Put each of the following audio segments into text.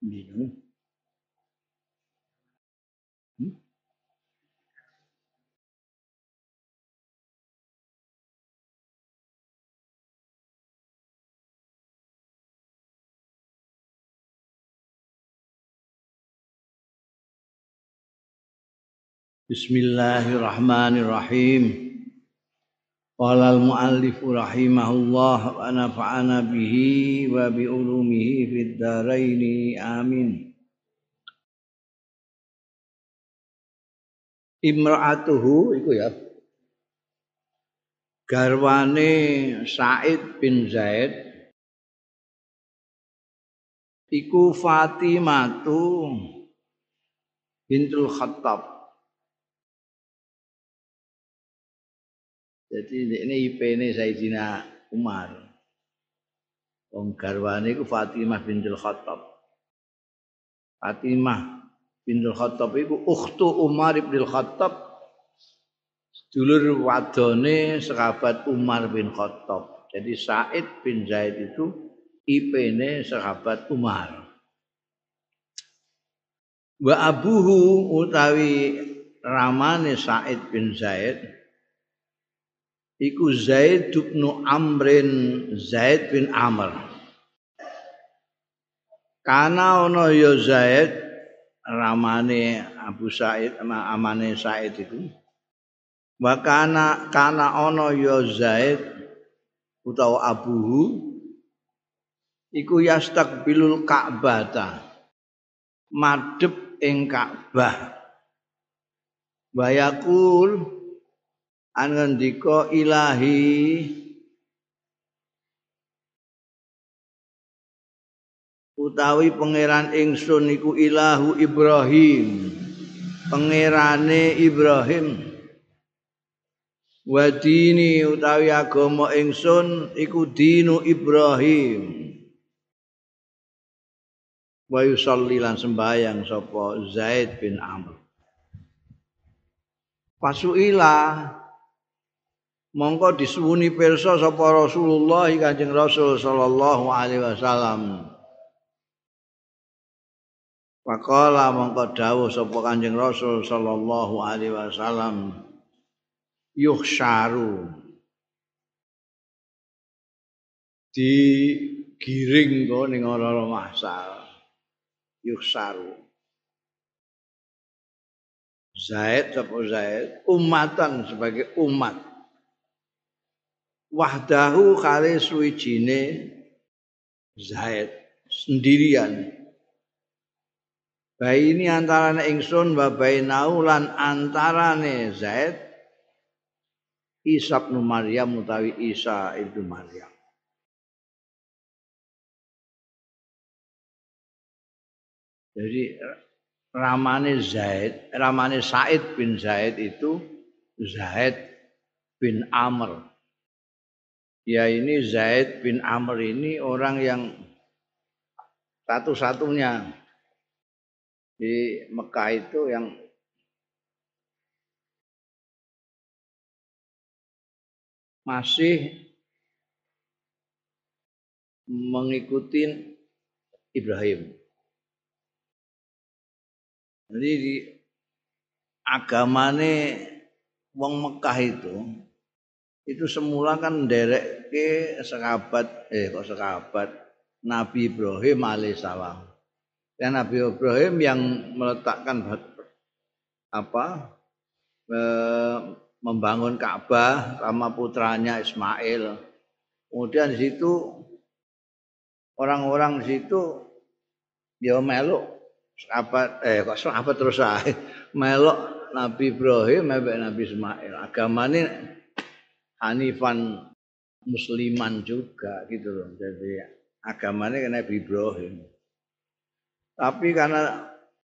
Minum. Bismillahirrahmanirrahim. Qala al-muallif rahimahullah wa nafa'ana bihi wa bi ulumihi fid dharain amin. Imra'atuhu iku ya garwane Sa'id bin Zaid iku Fatimatu bintul Khattab. Jadi ini IP-ne Sayyidina Umar. Wong garwane iku Fatimah bintul Khattab. Fatimah bintul Khattab iku ukhtu Umar bin Khattab, dulur wadone sahabat Umar bin Khattab. Jadi Sa'id bin Zaid itu IP-ne sahabat Umar. Wa abuhu utawi ramane Sa'id bin Zaid iku Zaid bin Amrin, Zaid bin Amr. Kana ana ya Zaid ramane Abu Sa'id amane Sa'id itu. Wa kana ana ya Zaid utawa abuhu iku yastaqbilul Ka'bah, madhep ing Ka'bah. Wa yaqul an ngendika ilahi utawi pangeran ingsun iku ilahu Ibrahim, pangerane Ibrahim. Wa dini utawi agama ingsun iku dinu Ibrahim. Wa yusalli lan sembayang sapa Zaid bin Amr. Pasuila mongko disuwuni pirsa sapa Rasulullah Kanjeng Rasul sallallahu alaihi wasallam. Faqala mongko dawuh sapa Kanjeng Rasul sallallahu alaihi wasallam, yuhsyaru digiring kok ning ora mahsyar. Yuhsyaru Zaid sapa Zaid umatan sebagai umat, wahdahu kali suwijine Zaid sendirian. Baini antarane ingsun wa bainau lan antarane Zaid Isa bin Maryam utawi Isa ibnu Maryam. Jadi ramane Sa'id bin Zaid itu Zaid bin Amr. Ya ini Zaid bin Amr ini orang yang satu-satunya di Mekah itu yang masih mengikuti Ibrahim. Jadi di agamane wong Mekah itu semula kan nderekke sahabat Nabi Ibrahim alaihissalam. Dan Nabi Ibrahim yang meletakkan membangun Ka'bah sama putranya Ismail. Kemudian di situ orang-orang di situ dia meluk sahabat terus meluk Nabi Ibrahim mbek Nabi Ismail. Agamane Hanifan Musliman juga gitu loh. Jadi agamanya Nabi Ibrahim. Tapi karena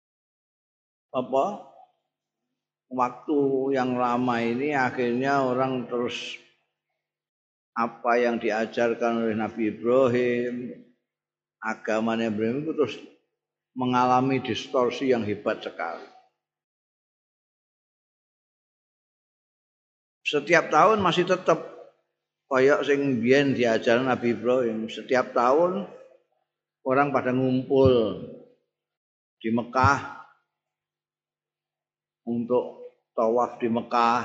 waktu yang lama ini akhirnya orang terus apa yang diajarkan oleh Nabi Ibrahim, agamanya Ibrahim itu terus mengalami distorsi yang hebat sekali. Setiap tahun masih tetap kayak sing biyen diajaran Nabi Ibrahim. Setiap tahun orang pada ngumpul di Mekah untuk tawaf di Mekah,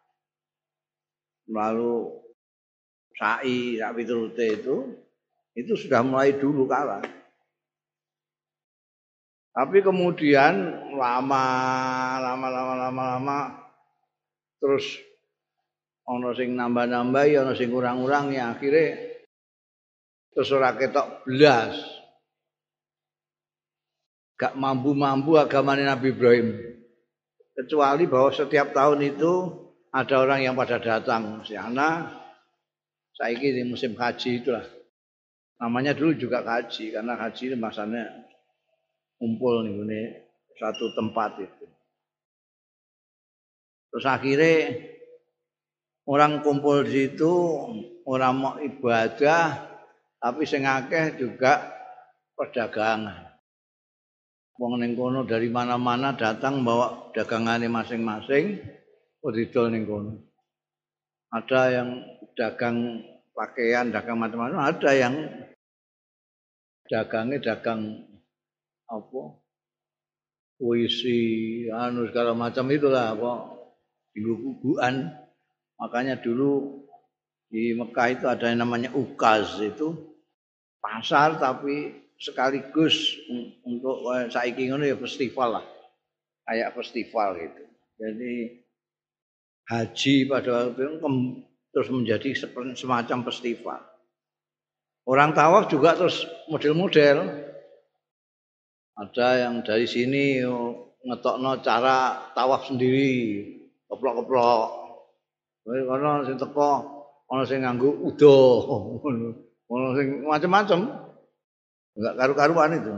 lalu sa'i piturute itu sudah mulai dulu kala. Tapi kemudian lama terus ana sing nambah-nambahi, ana sing kurang-kurangi, akhirnya terus ora ketok blas. Gak mampu-mampu agamane Nabi Ibrahim. Kecuali bahwa setiap tahun itu ada orang yang pada datang. Karena saiki di musim haji itulah. Namanya dulu juga haji karena haji ini masanya kumpul nih satu tempat itu. Terus akhirnya orang kumpul di situ, orang mau ibadah, tapi sing akeh juga perdagangan. Wong ning kono dari mana-mana datang bawa dagangane masing-masing, didol ning kono. Ada yang dagang pakaian, dagang macam-macam, ada yang dagangnya dagang apa? Puisi, segala macam itulah apa? Buku-bukuan. Makanya dulu di Mekah itu ada yang namanya ukaz, itu pasar tapi sekaligus untuk saiki ngono ya festival lah. Kayak festival gitu. Jadi haji pada waktu itu terus menjadi semacam festival. Orang tawaf juga terus model-model. Ada yang dari sini ngetokno cara tawaf sendiri, keplok-keplok. Ana sing teko, ana sing nganggo udo, ana sing macam-macam. Enggak karu-karuan itu.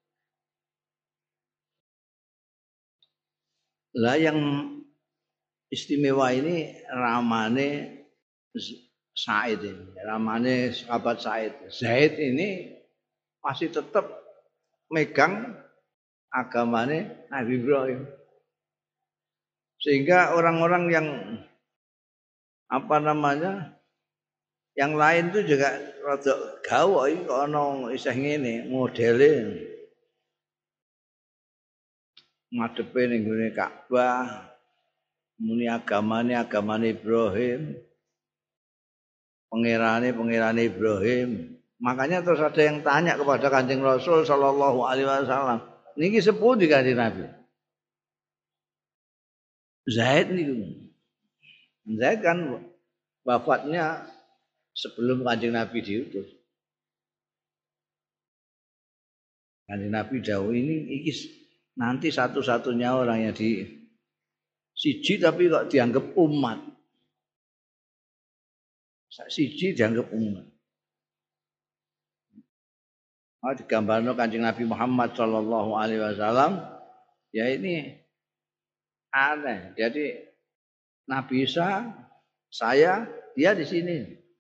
Lah yang istimewa ini ramane Said ini, ramane sahabat Said. Zaid ini masih tetap megang agamane Nabi Ibrahim. Sehingga orang-orang yang apa namanya yang lain itu juga rada gawe kok ana isih ngene modele ngadepe ning gone Ka'bah muni agamane Ibrahim pangerane Ibrahim. Makanya terus ada yang tanya kepada Kanjeng Rasul sallallahu alaihi wasallam, niki sepundi Kanjeng Nabi? Zaid niku. Zaid kan wafatnya sebelum Kanjeng Nabi diutus. Kanjeng Nabi dawuh ini nanti satu-satunya orang yang siji tapi kok dianggap umat. Siji dianggap umat. Digambarno Kanjeng Nabi Muhammad sallallahu alaihi wasallam ya ini aneh. Jadi Nabi Isa, saya, dia di sini.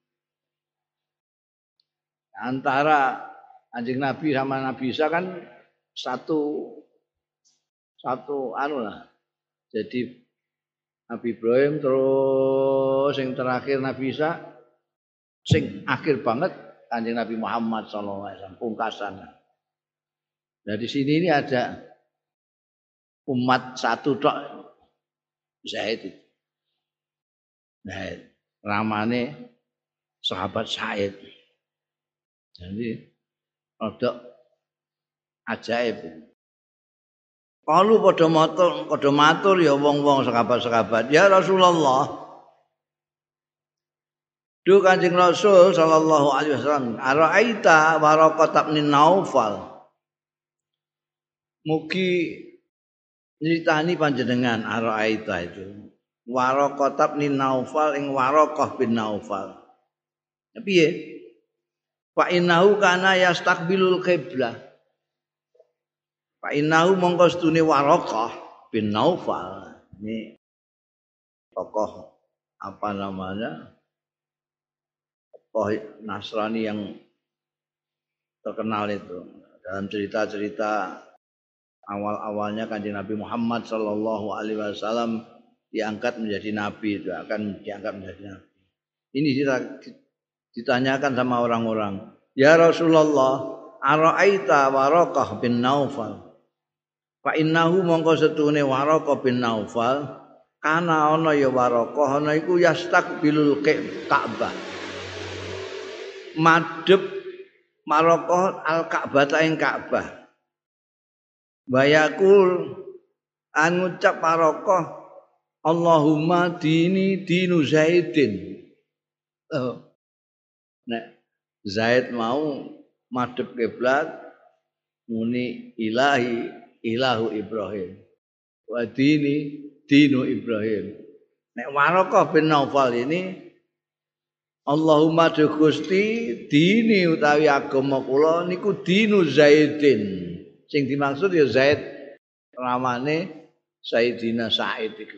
Antara Kanjeng Nabi sama Nabi Isa kan satu anu lah. Jadi Nabi Ibrahim terus yang terakhir Nabi Isa, sing akhir banget Kanjeng Nabi Muhammad SAW pungkasan. Nah di sini ini ada umat satu tok Zaid. Nah, ramane sahabat Said. Jadi rodok ajaib. Kalau padha matur ya wong-wong sahabat-sahabat, ya Rasulullah. Duh Kanjeng Rasul sallallahu alaihi wasallam, ara'aita Waraqah bin Naufal. Mugi nyritani panjenengan ara'aita itu. Waraqah bin Naufal ing Waraqah bin Naufal. Piye? Fa innahu kana yastaqbilul qiblah. Fa innahu mongko stune Waraqah bin Naufal. Ini tokoh apa namanya? Tokoh Nasrani yang terkenal itu. Dalam cerita-cerita awal-awalnya Kanjeng Nabi Muhammad sallallahu alaihi wasallam diangkat menjadi nabi, itu akan diangkat menjadi nabi. Ini ditanyakan sama orang-orang, "Ya Rasulullah, ara'aita Waraqah bin Naufal?" Fa innahu mongko setune Waraqah bin Naufal kana ana ya Waraqah ana iku yastaqbilul Ka'bah. Madhep Waraqah al-Ka'bah ing Ka'bah. Bayakul an ngucap Waraqah Allahumma dini dinu Zaidin. Nek Zaid mau madhep kiblat muni ilahi ilahu Ibrahim wa dini dinu Ibrahim. Nek Waraqah bin Naufal ini Allahumma du Gusti dini utawi agama kula niku dinu Zaidin. Sing dimaksud ya Zaid ramane Sayyidina Sa'id iku.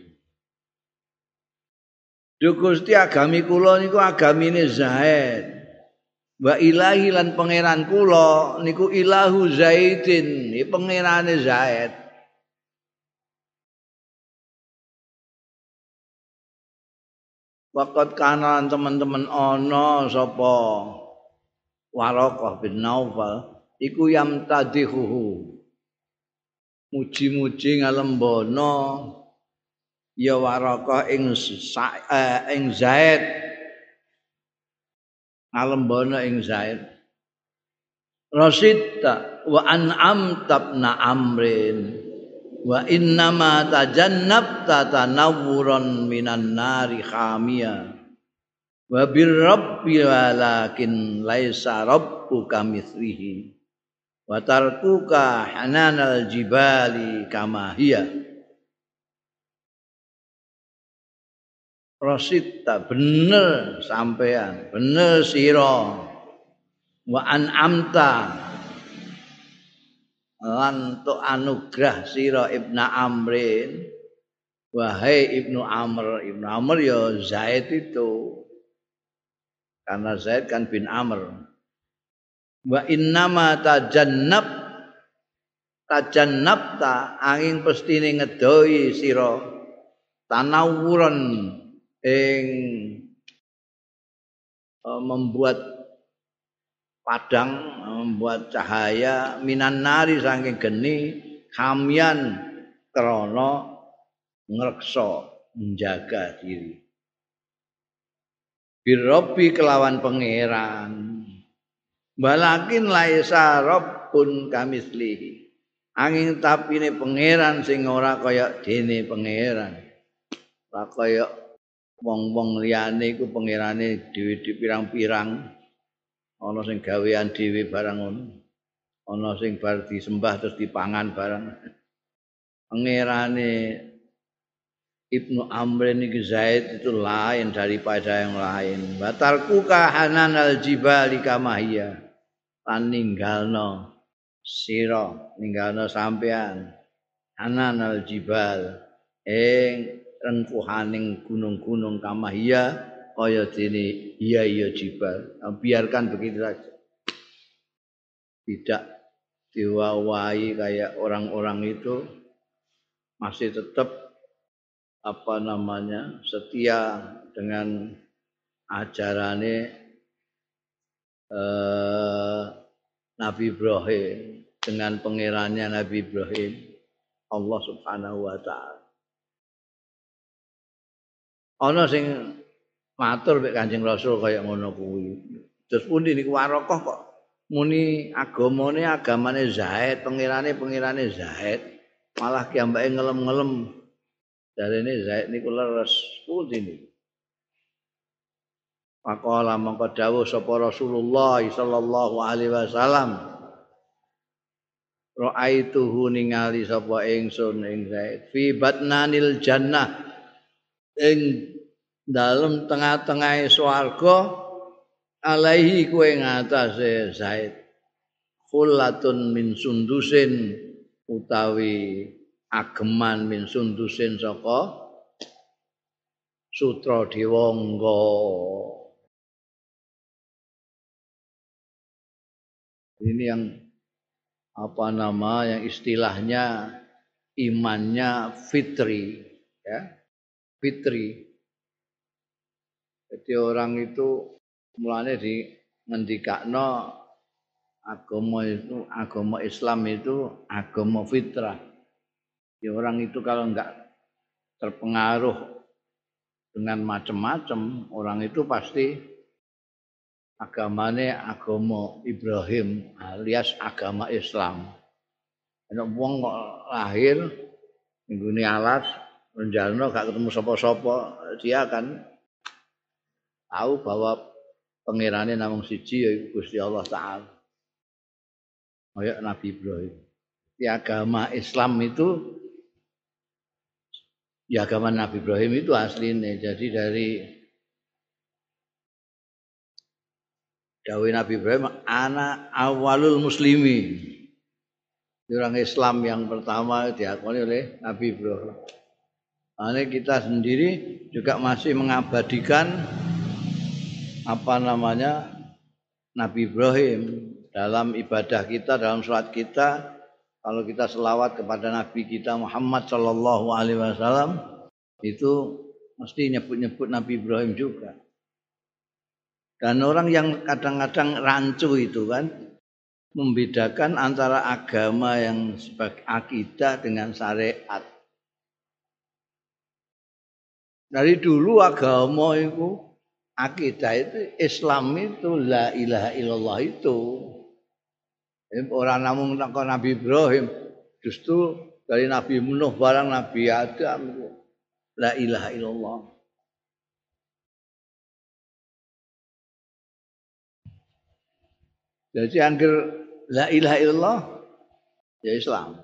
Du Gusti agami kula niku agamine Zaid. Wa ilahi lan pangeran kula niku ilahu Zaidin, pangerane Zaid. Waqat kanan teman-teman ana sapa Waraqah bin Naufal iku yamtadihuhu. Muji-muji ngalembono ya Waraqah ing Zaid. Ngalembono ing Zaid. Rasidta wa an'amta ibna Amrin wa innama tajannabta tanawwuran minan nari khamia wa birrabbi walakin laisa rabbuka mithlihi wa tarkuka hananal jibali kama hiya. Rasidta bener sampean, bener sira wa an'amta lan tu anugrah sira Ibnu Amrin wahai Ibnu Amr. Ibnu Amr ya Zaid itu karena Zaid kan bin Amr. Wa innama tajannabta angin pestine ngedoi sira tanawuran ing membuat padang, membuat cahaya minan nari saking geni kamian krana ngreksa menjaga diri. Birrobi kelawan pangeran. Walakin laisa rabbun kamislihi. Angin tapine pangeran sing ora kaya dene pangeran. Ora kaya wong-wong liyane iku pangerane dhewe pirang-pirang. Ana sing gawean dhewe barang ngono. Ana sing bar disembah terus dipangan barang. Pangerane Ibnu Amr ini Zaid itu lain daripada yang lain. Batalku kahananal jibali kamahia. Lan ninggalno sira, ninggalno sampean. Hananal jibal ing rengkuhaning gunung-gunung kamahia kaya dene iya jibal. Biarkan begitu saja. Tidak diwawahi kayak orang-orang itu masih tetap setia dengan ajarane Nabi Ibrahim, dengan pangerannya Nabi Ibrahim, Allah Subhanahu wa taala. Ana sing matur mek Kanjeng Rasul kaya ngono kuwi. Terus pundi niku Waraqah kok muni agamane Zaid, pangerane Zaid, malah kiambake ngelem-ngelem. Jarene Zaid niku leres pundi niku. Faqala mangko dawuh sapa Rasulullah sallallahu alaihi wasallam. Ra'aituhu ningali sapa ingsun ing Zaid fi batnanil jannah ing dalem tengah-tengahe swarga alaihi kuwe ngatasé Zaid khullatun min sundusin utawi ageman min sundusin saka sutra dewangga. Ini yang yang istilahnya imannya fitri, ya. Fitri. Jadi orang itu mulane di ngendikakno agama Islam itu agama fitrah. Ya orang itu kalau enggak terpengaruh dengan macam-macam, orang itu pasti agamanya agama Ibrahim alias agama Islam. Ana wong kok lahir nggone alas renjalno gak ketemu sapa-sapa, dia akan tahu bahwa pangerane namung siji yaiku Gusti Allah Taala. Kaya Nabi Ibrahim. Di agama Islam itu ya agama Nabi Ibrahim itu aslinya. Jadi dari dawuh Nabi Ibrahim ana awalul muslimin. Orang Islam yang pertama diakoni oleh Nabi Ibrahim. Nah, kita sendiri juga masih mengabadikan Nabi Ibrahim dalam ibadah kita, dalam sholat kita. Kalau kita selawat kepada Nabi kita Muhammad Sallallahu Alaihi Wasallam itu mesti nyebut-nyebut Nabi Ibrahim juga. Dan orang yang kadang-kadang rancu itu kan membedakan antara agama yang sebagai akidah dengan syariat. Dari dulu agama itu, akidah itu, Islam itu, la ilaha illallah itu. Orang namung Nabi Ibrahim, justru dari Nabi Nuh barang Nabi Adam itu, la ilaha illallah. Jadi angger la ilaha illallah ya Islam.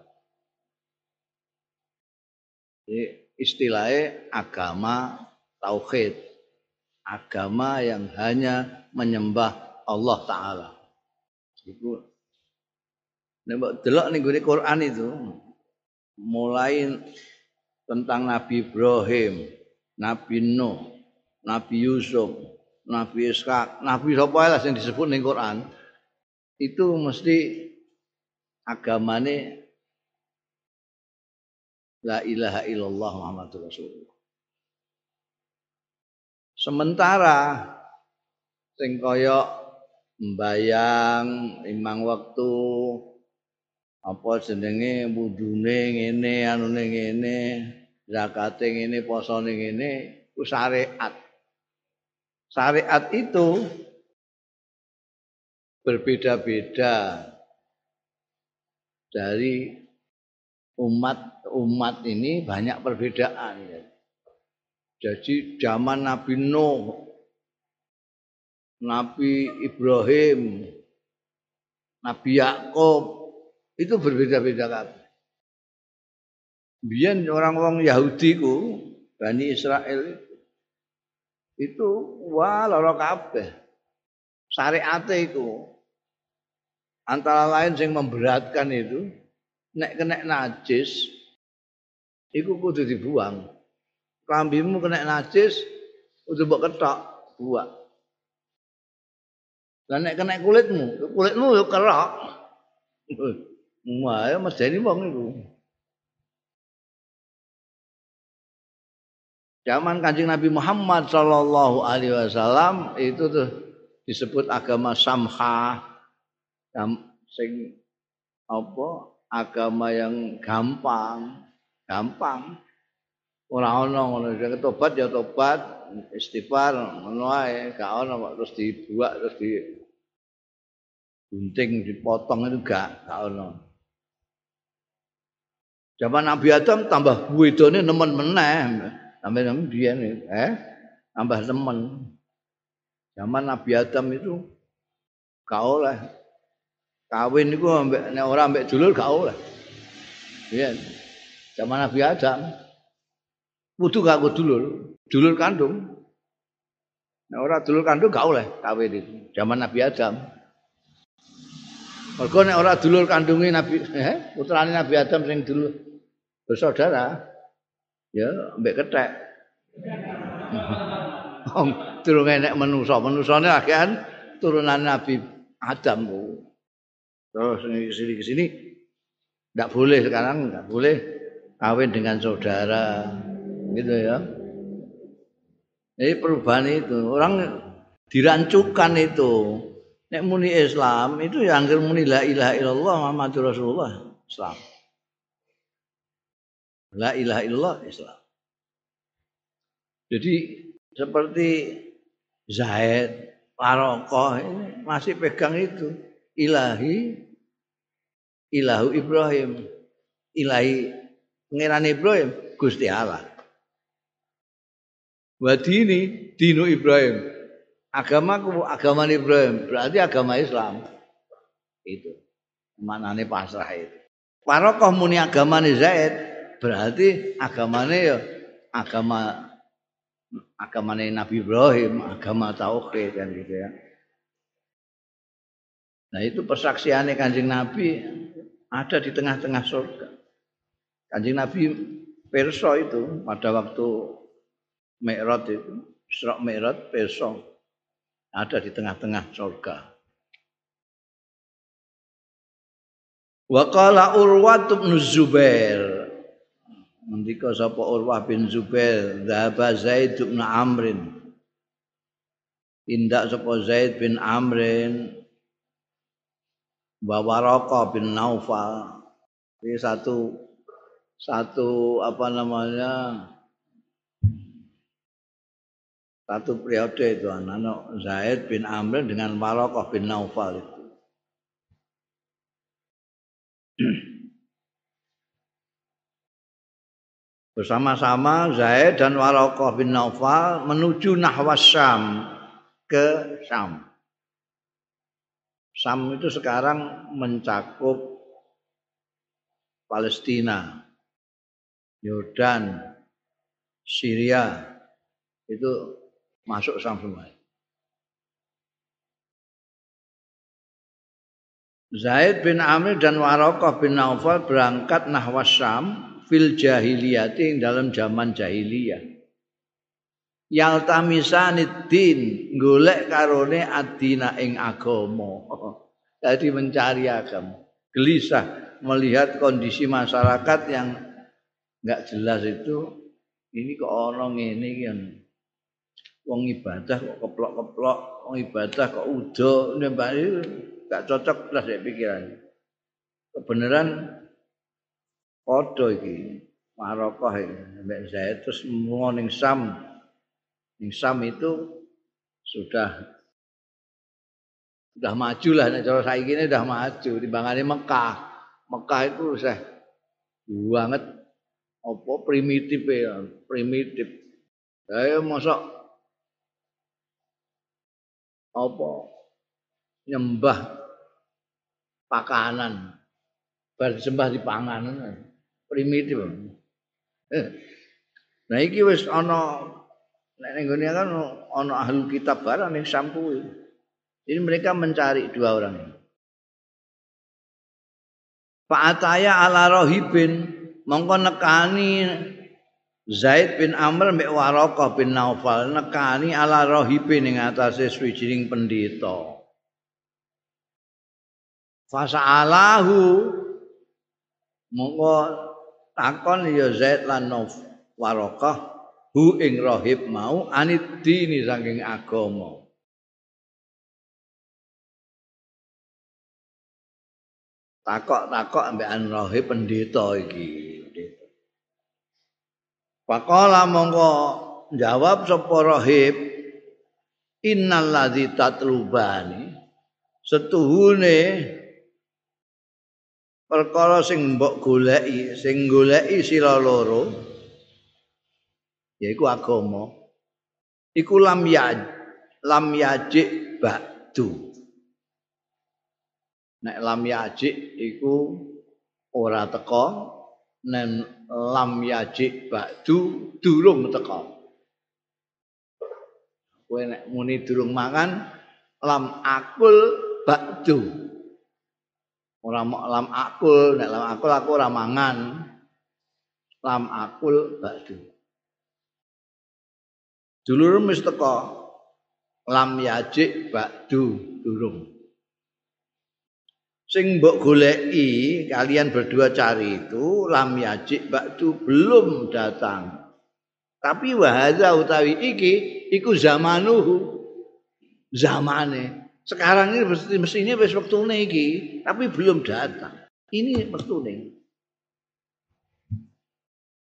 Jadi istilahnya agama tauhid. Agama yang hanya menyembah Allah Ta'ala. Itu nek delok ning Quran itu mulai tentang Nabi Ibrahim, Nabi Nuh, Nabi Yusuf, Nabi Ishak, Nabi sapa lah yang disebut ning Quran. Itu mesti agamane la ilaha illallah Muhammadur Rasulullah. Sementara sing kaya mbayang imang wektu apa jenenge wudune ngene anune ngene zakate ngene posone ngene ku syariat. Syariat itu berbeda-beda dari umat ini banyak perbedaan ya. Jadi zaman Nabi Nuh, Nabi Ibrahim, Nabi Yakub itu berbeda-beda kabeh. Biyen orang-orang Yahudi ku, Bani Israel itu wah lara kabeh. Syariate iku antara lain yang memberatkan itu nek kena najis iku kudu dibuang. Klambimu kena najis kudu mbok kethok, buang. Lah nek kena kulitmu yo kerok. Wah, ya medeni wong iku. Zaman Kanjeng Nabi Muhammad sallallahu alaihi wasallam itu tuh disebut agama samha. Sing apa agama yang gampang ora ana ngono sing tobat ya tobat istighfar ngono ae gak ana kok terus dibuak terus gunting dipotong itu gak ana. Zaman Nabi Adam tambah wedone nemen meneh sampe biyen tambah nemen. Zaman Nabi Adam itu gak oleh kawin niku ambek nek ora ambek dulur gak oleh. Iya. Zaman Nabi Adam kudu gak dulur kandung. Nek ora dulur kandung gak oleh kawin itu. Zaman Nabi Adam. Mergo nek ora dulur kandunge Nabi putrane Nabi Adam sing dulur bersaudara ya ambek kethek. Durung enek menusane akehan turunan Nabi Adam ku. Terus kesini enggak boleh sekarang enggak boleh kawin dengan saudara gitu ya. Jadi perubahan itu orang dirancukan itu. Nek muni Islam itu ya angger muni la ilaha illallah Muhammadur Rasulullah Islam. La ilaha illallah Islam. Jadi seperti Zaid, Warokoh ini masih pegang itu. Ilahu Ibrahim. Ilahi pengiran Ibrahim, Gusti Allah. Wadini, dinu Ibrahim. Agamaku, agama Ibrahim. Berarti agama Islam. Itu. Manane pasrah itu. Warokoh muni agamane Zaid. Berarti agamane ya agamane Nabi Ibrahim, agama tauhid kan gitu ya. Nah itu persaksiannya Kanjeng Nabi ada di tengah-tengah surga. Kanjeng Nabi pirsa itu pada waktu Mi'raj itu, Isra Mi'raj pirsa ada di tengah-tengah surga. Wa qala Urwah bin Zubair. Ngendika sapa Urwah bin Zubair, "Dzaba Zaid bin Amrin." Tindak sapa Zaid bin Amrin wa Waraqah bin Naufal. Ini satu apa namanya? Satu periode itu anak Zaid bin Amr dengan Waraqah bin Naufal itu. Bersama-sama Zaid dan Waraqah bin Naufal menuju nahwas Syam, ke Syam. Syam itu sekarang mencakup Palestina, Yordan, Syria, itu masuk Syam semua. Zaid bin Amr dan Waraqah bin Naufal berangkat nahwas Syam fil jahiliyati dalam zaman jahiliyah. Yaltamisanid din golek karone adina ing agama. Jadi mencari agama. Gelisah melihat kondisi masyarakat yang enggak jelas itu. Ini kok ono ngene iki kan. Wong ibadah kok keplok-keplok, wong ibadah kok udo, nembak itu enggak cocok lah saya pikiran. Kebenaran padha iki. Marokah iki mbek Zaid terus lunga ning Syam. Ning Syam itu sudah maju lah nek cara saiki ini sudah maju timbangane Mekah. Mekah itu wis banget apa primitif ya, primitif. Saya mosok apa nyembah pakanan bar disembah di panganan primitif. Nah iki wis ana nek ning gone kan ana ahli kitab barang ning Syam kuwi. Jadi mereka mencari dua orang ini. Fa'ataya ala rohibin mongko nekani Zaid bin Amr mbek Waraqah bin Naufal nekani ala rohibin ing atase swijining pendeta. Fasa'alahu mongko takon ya Zaid lan Waraqah hu ing rohib mau anid dini saking agama. Takok-takok ambekan rohib pendeta iki. Faqala mongko jawab sapa rohib innal ladzi tatlubani setuhune perkara sing mbok goleki sing goleki sira loro yaiku agama iku lam yajik ba'du. Nek lam yajik iku ora teka, nen lam yajik ba'du durung teka. Kowe nek muni durung mangan lam akul ba'du. Ora lam akul, nek lam akul aku ora mangan. Lam akul ba'du. Dulur mesti teka. Lam yajik ba'du durung. Sing mbok goleki kalian berdua cari itu lam yajik ba'du belum datang. Tapi wahaza utawi iki iku zamanuhu. Zamane. Sekarang ini mestinya wis wektune iki, tapi belum datang. Ini wektune.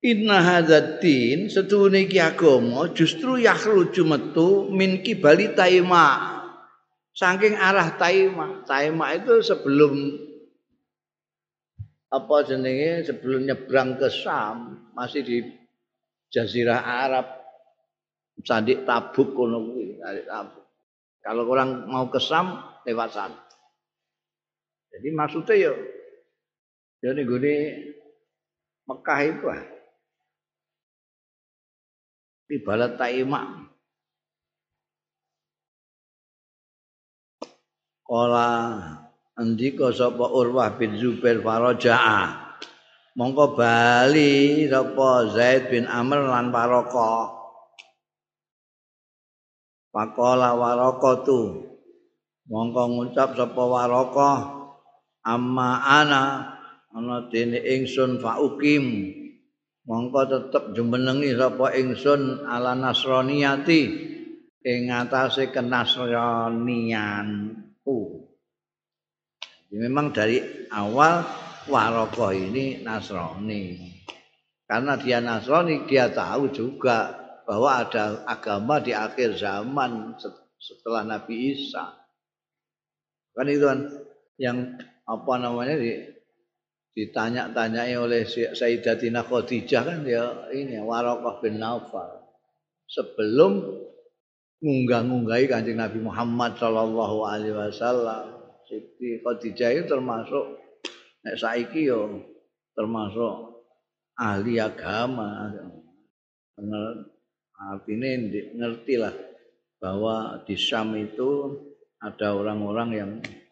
Inna hadzatin setune iki agama justru yakhruju metu min kibali taima. Saking arah Taima. Taima itu sebelum apa jenenge sebelum nyebrang ke Syam, masih di Jazirah Arab. Sandik Tabuk kono kuwi, Sandik Tabuk. Kalau orang mau ke Syam lewat sana. Jadi maksudnya ya ning gone Mekah itu di Balat Taima. Kala andika sapa Urwah bin Zubair faraja'a. Mongko bali sapa Zaid bin Amr lan Waraqah. Faqala Waraqatu. Mongko ngucap sapa Waraqah amma ana dene ingsun faukim. Mongko tetep jumenengi sapa ingsun ala nasraniyati ing atase kenasranian. Memang dari awal Waraqah ini Nasrani. Karena dia Nasrani, dia tahu juga bahwa ada agama di akhir zaman setelah Nabi Isa. Kan itu kan yang apa namanya ditanya-tanyai oleh Sayyidatina Khadijah kan ya ini Waraqah bin Naufal. Sebelum ngunggah-ngunggahi Kanjeng Nabi Muhammad sallallahu alaihi wasallam. Siti Khadijah itu termasuk nek saiki yo termasuk ahli agama. Artinya ngertilah bahwa di Syam itu ada orang-orang yang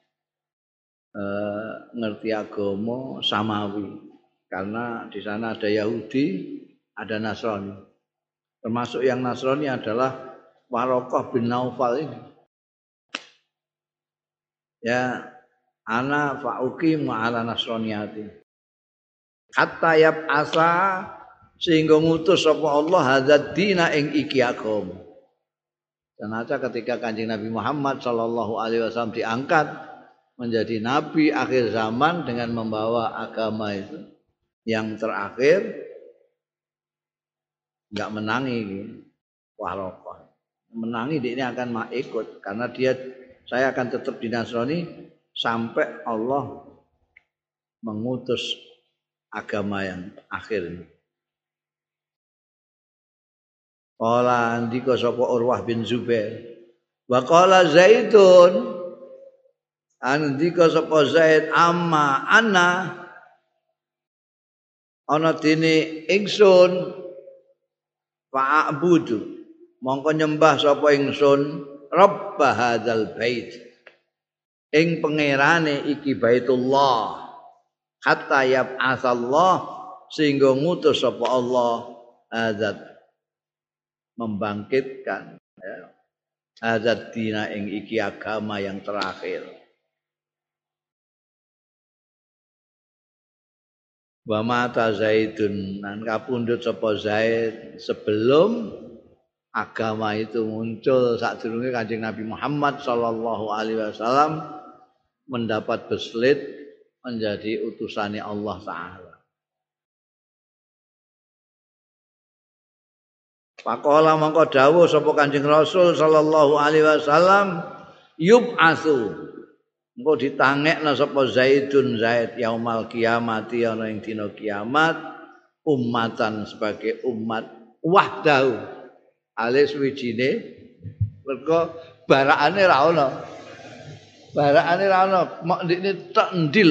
ngerti agama samawi. Karena di sana ada Yahudi, ada Nasrani. Termasuk yang Nasrani adalah Waraqah bin Naufal ini. Ya, ana fa'uqim ma'ala nasraniyati. Hatta yab'asa sehingga ngutus sapa Allah hadzal dina ing iki agama. Dan ketika Kanjeng Nabi Muhammad sallallahu alaihi wasallam diangkat menjadi nabi akhir zaman dengan membawa agama itu yang terakhir enggak menangi Waraqah. Menangi dia ini akan ikut karena saya akan tetap di Nasrani sampai Allah mengutus agama yang akhir ini. Qala andika sapa Urwah bin Zubair. Wa qala Zaidun andika sapa Zaid amma ana dene ingsun fa'budu mongko nyembah sapa ingsun Rabb hadzal bait ing pangerane iki Baitullah hatta yab'atsallah sehingga ngutus sapa Allah hadzat membangkitkan hadzat dina ing iki agama yang terakhir. Wa mata Zaidun nan kapundhut sapa Zaid sebelum agama itu muncul sadurunge Kanjeng Nabi Muhammad sallallahu alaihi wasallam mendapat beslit menjadi utusannya Allah taala. Faqala mongko dawuh sapa Kanjeng Rasul sallallahu alaihi wasallam yub'atsu engko ditangekna sapa Zaidun Zaid yaumal kiamati ana ing dina kiamat ummatan sebagai umat wahdahu alis wijine mergo barakane ra ono. Barakane ra ono, mok ndekne tok ndil.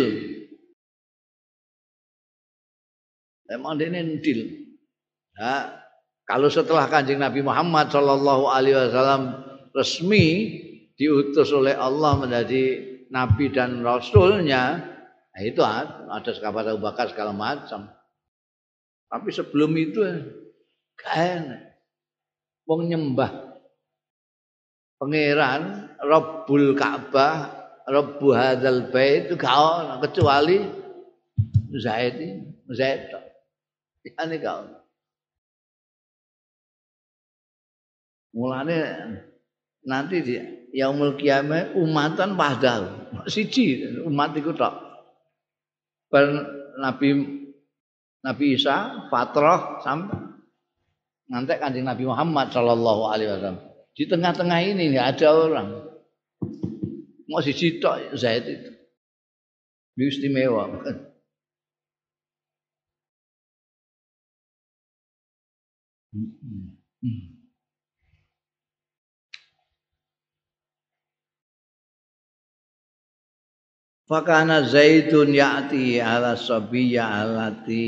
Emang ndekne ndil. Nah, kalau setelah Kanjeng Nabi Muhammad sallallahu alaihi wasallam resmi diutus oleh Allah menjadi nabi dan rasulnya, nah itu ada sahabat Abu Bakar segala macam. Tapi sebelum itu gak enak. Wong nyembah pangeran Rabbul Ka'bah, Rabbu hadzal bait itu gak ono kecuali Zaid. Ini gak ono. Mulane nanti di yaumul qiyamah umatan wahdahu. Siji umat iku tok. Nabi Nabi Isa fatrah sampai ngantek Kanjeng Nabi Muhammad sallallahu alaihi wasallam. Di tengah-tengah ini enggak ada orang. Mau siji tok Zaid itu. Istimewa. Fakana Zaidun ya'ti ala sabiyya alati.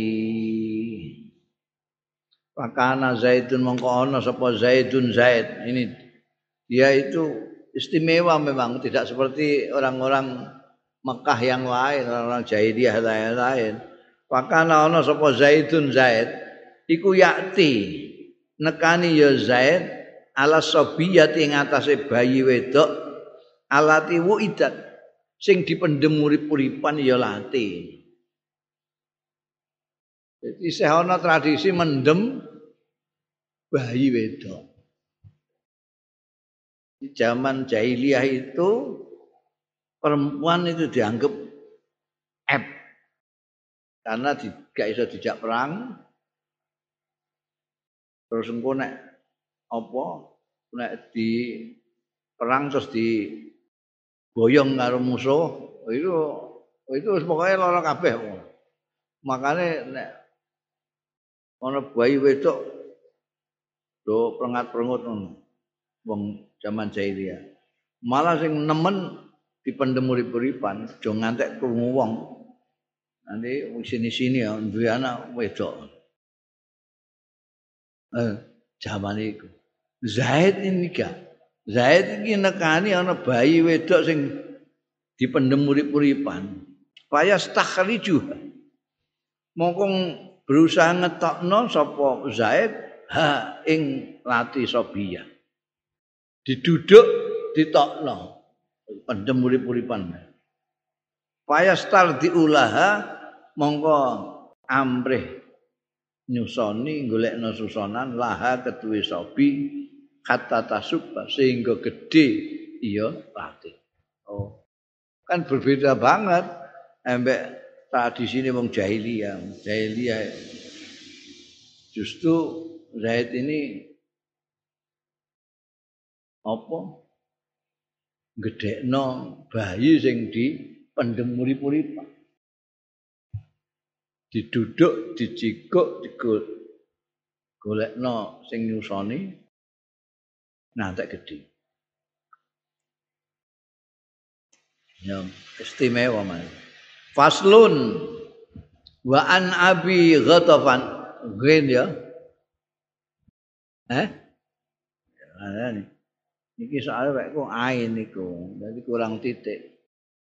Fakana Zaidun mongko ana sapa Zaidun Zaid. Ini dia itu istimewa memang, tidak seperti orang-orang Mekah yang lain, orang-orang jahiliyah lain. Fakana ana sapa Zaidun Zaid iku ya'ti nekani ya Zaid ala sabiyati ing atase bayi wedok alati wuidat sing dipendhem urip-uripan ya lati. Jadi isih ana tradisi mendem bayi wedok. Di zaman jahiliyah itu perempuan itu dianggap eb karena gak iso dijak perang. Terus engko nek apa nek di perang terus di boyong karo musuh itu pokoknya lara kabeh. Makane nek ana bayi wedok do prengat-prengut wong zaman jahiliyah. Malah sing nemen dipendhem urip-uripan aja ngantek krungu wong. Nanti sini-sini ya duwe anak wedok. Zaman iku. Zaid ini gak. Zaid iki nekani ana bayi wedok sing dipendhem urip-uripan. Payas takhriju. Mongko berusaha ngetokno sapa Zaid ing lati Sobiyah. Diduduk ditokno pendhem urip-uripan. Payas tardiulaha mongko amrih nyusoni golekno susonan laha ketuwe Sobi kata tasubba sehingga gede iya lati. Oh. Kan berbeda banget ambek tradisine wong jahiliyah. Jahiliyah justru Zaid ini apa? Gedekno bayi sing dipendhem urip-uripan. Diduduk, dicikuk, golekno sing nyusoni ngantek gedhe. Ya, istimewa man. Faslun wa an Abi Ghatafan. Green ya. Niki soalnya wek kok ain niku, dadi kurang titik.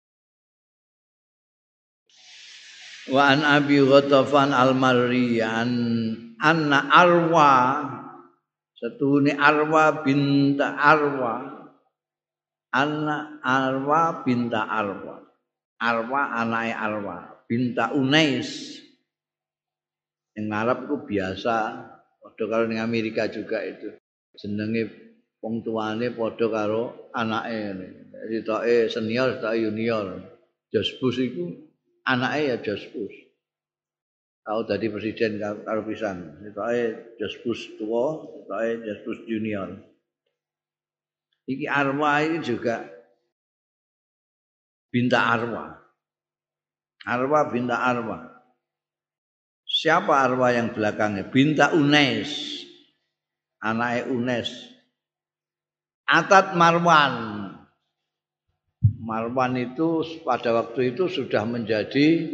Wa an Abi Ghatafan al-Marriyan anna Arwa setune Arwa binta Arwa anna Arwa binta Arwa anake Arwa binta Unais yang Arab itu biasa padha karo ning Amerika juga itu jenenge wong tuane padha karo anake sitoke senior sitoke junior Josbus iku anake ya Josbus. Tau dadi presiden karo pisan. Sitoke Josbus tua, sitoke Josbus junior. Iki Arwa ini juga binta Arwa. Arwa binta Arwa. Siapa Arwa yang belakangnya? Binta Unais. Anake Unais. Atat Marwan. Marwan itu pada waktu itu sudah menjadi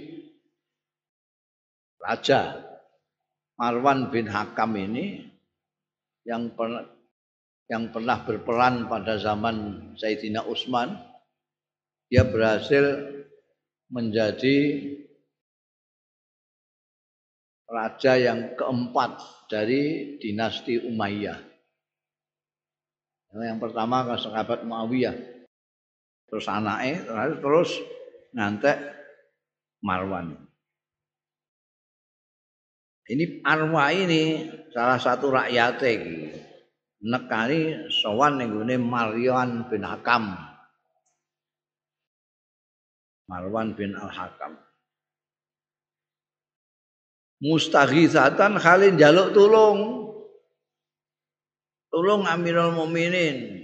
raja. Marwan bin Hakam ini yang pernah berperan pada zaman Sayyidina Utsman, dia berhasil menjadi raja yang keempat dari dinasti Umayyah. Yang pertama sahabat Muawiyah. Terus anake terus ngantek Marwan. Ini Arwa ini salah satu rakyat iki. Nekani sowan ning gone Marwan bin Hakam. Marwan bin Al-Hakam. mustaghitsatan halin njaluk tulung. Tulung Amirul Mukminin.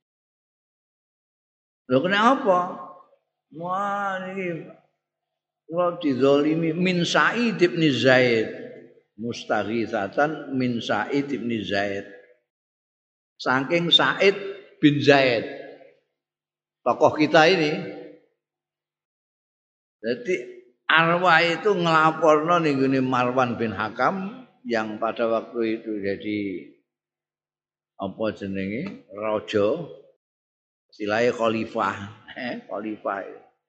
Lho kenapa? Wah niki kula dizalimi min Sa'id bin Zaid. Mustaghitsatan min Sa'id bin Zaid. Saking Sa'id bin Zaid. Tokoh kita ini. Jadi Arwah itu ngelaporno ning Marwan bin Hakam yang pada waktu itu jadi apa jenenge? Raja. Istilahnya khalifah, khalifah.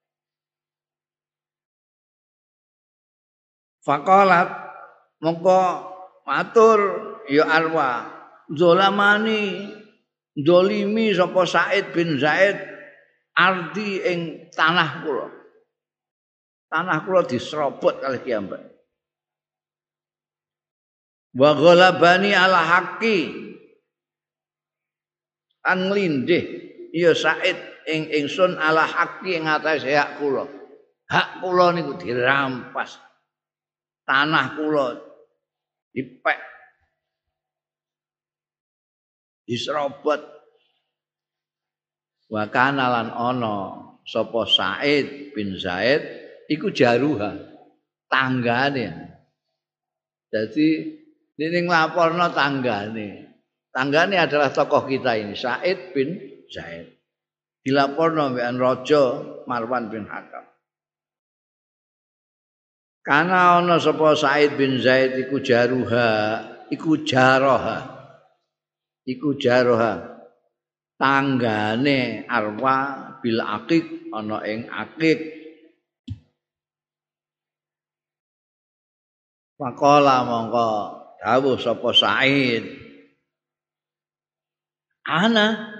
Faqalat mongko matur ya Arwah, zolamani zolimi sapa Sa'id bin Zaid ardi ing tanah kula. Tanah kula diserobot kalih kiambak. Wa ghalabani ala haqqi an nglindih ya Said ingsun ala haqqi ing atase hak kula. Hak kula niku dirampas. Tanah kula dipek. Diserobot. Wa kana lan ana sapa Said bin Zaid iku jaruha tanggane. Jadi ini nglaporno tanggane. Tanggane adalah tokoh kita ini Said bin Zaid. Dilaporno mbekan Raja Marwan bin Hakam. Kana ana sapa Said bin Zaid iku jaruha, iku jaroha. Iku jaroha. Tanggane Arwa bil Aqiq ana ing Aqiq. Faqala mongko dawuh sapa Said. Ana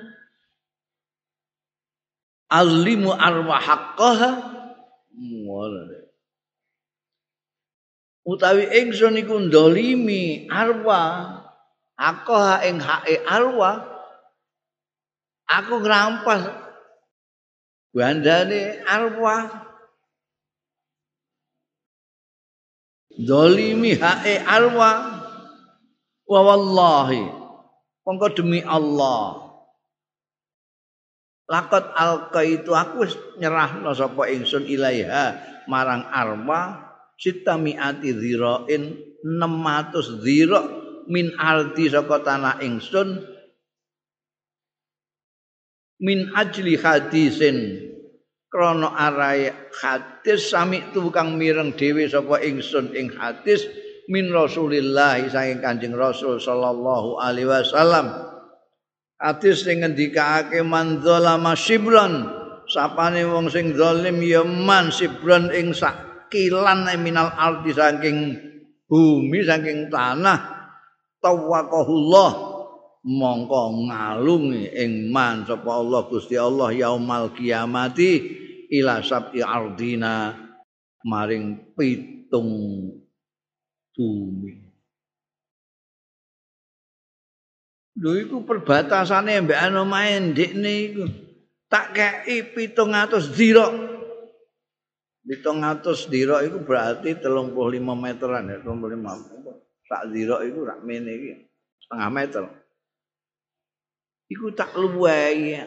azlimu arwah haqqaha utawi ingsun iku ndolimi arwah haqqaha ing hake arwah aku ngrampas bandane arwah ndolimi hake arwah wa wallahi mongko demi Allah lakot alqaitu aku wis nyerahno sapa ingsun ilaiha marang arwah sitamiati dzirain 600 dzira min ardi saka tanah ingsun min ajli hadisin krana arae hadis sami tukang mireng dhewe sapa ingsun ing hadis min Rasulillah saking Kanjeng Rasul sallallahu alaihi wasallam. Hadis sing ngendikake man zalama shibran sapane wong sing zalim ya man shibran ing sakilan minal ardi saking bumi saking tanah tawaqahullah mongko ngalungi ing man sapa Allah Gusti Allah yaumal kiamati ila sab'i ardina maring pitung bumi. Lho iku perbatasane mbek anu main ndekne iku. Tak kei 700 dzira. 700 dzira iku berarti 35 meteran ya, 35. Sak dzira iku rak mene iki, setengah meter. Iku tak luwehi.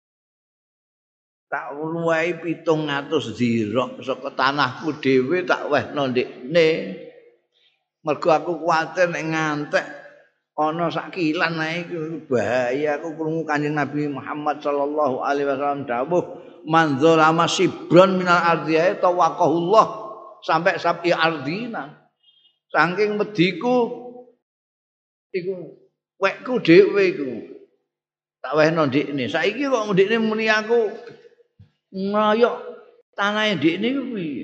Tak luwehi 700 dzira saka tanahku dhewe tak wehno ndekne. Mergo aku kuwatir nek ngantek ana sakilan ae iku bahaya aku krungu Kanjeng Nabi Muhammad sallallahu alaihi wasallam dawuh man zalama sibron minal ardhiya tawaqahullah sampai sabi ardina saking mediku iku wekku dhewe iku tak wehno ndikne saiki kok ndikne muni aku ngoyok tanahe ndikne ku piye.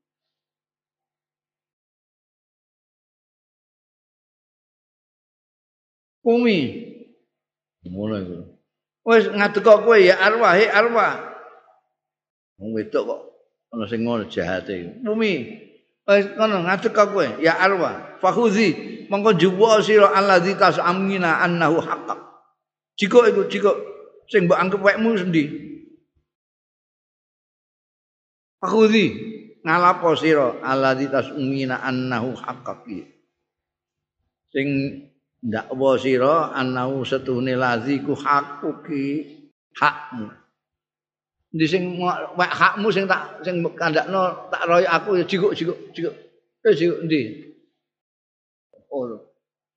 Umi ngono iku wis ngadeka kowe ya arwah he arwah wong wedok kok ana sing ngono jahate Umi wis ngono ngadeka kowe ya arwah fakhuzi mongko juwa sira allazi tasamina annahu haqqaq jika iku jika sing mbok anggap wekmu sendi fakhuzi ngalapo sira alladzi tasumina annahu haqqi sing ndakwa sira annahu setune laziku haqqi hakmu ndi sing hakmu sing kandakno tak royo aku ya jikuk jikuk ndi oh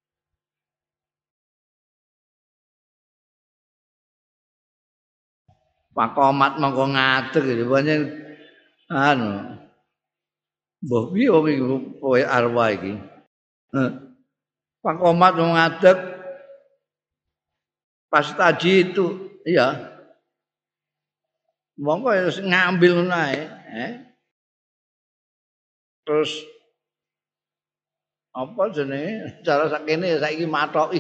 Pakomat mongko ngadeg pancen anu mbah piye wong iki kowe arwah iki Pakomat wong ngadeg pas tadi itu iya mongko ngambil ngono ae terus apa jenenge cara sakene saiki matoki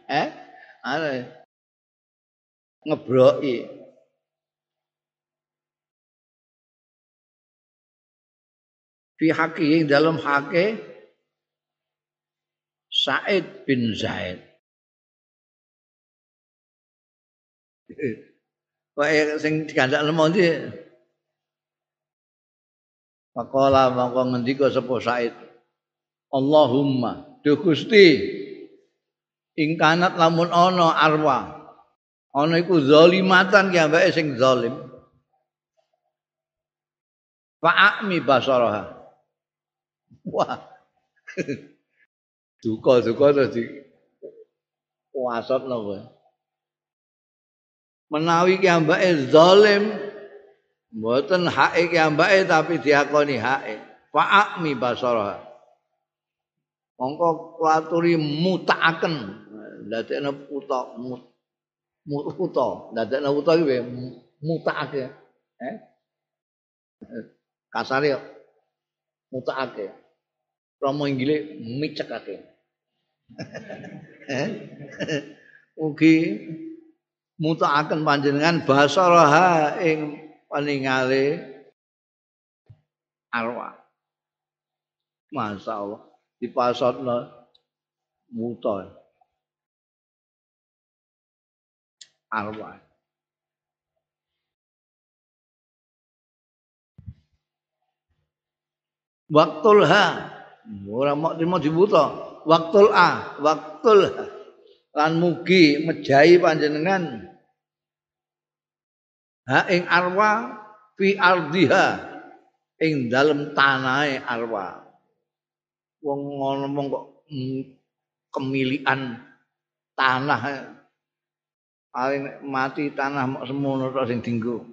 ngebroki fi haqi dalam hake Said bin Zaid. Kaya sing dikandakno ndi Pakola mongko ngendika sapa Said Allahumma duh Gusti ingkanat lamun ana arwah ana iku zalimatan ki ambeke sing zalim fa'ami basaraha wah duka terus di kuasatno kowe menawi ki ambake zalim mboten hake ki ambake tapi diakoni hake fa'ami basaraha mongko kuaturi mutaaken ndadekno ndadekno uta iki mutaake kasare mutaake Romo inggile micekake. Ugi mutaaken panjenengan basaraha ing paningale arwah. Masyaallah dipasotno muta arwah. Waktulha ora mok trimo dibuta waktul lan mugi mejahi panjenengan ha ing arwah fi ardiha ing dalem tanahe arwah wong ngomong kok kemilikan tanah paling mati tanah mok semono tok sing dienggo